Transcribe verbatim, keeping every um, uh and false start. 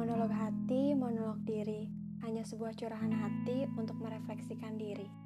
Monolog hati, monolog diri, hanya sebuah curahan hati untuk merefleksikan diri.